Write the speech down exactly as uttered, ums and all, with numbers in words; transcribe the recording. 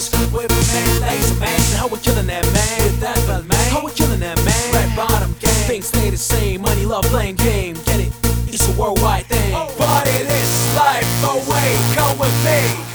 East with a man, laser man. How we killing that man? With that bell man. How we killing that man? Red bottom gang. Things stay the same. Money, love, blame game. Get it? It's a worldwide thing. But it is life away. Come with me.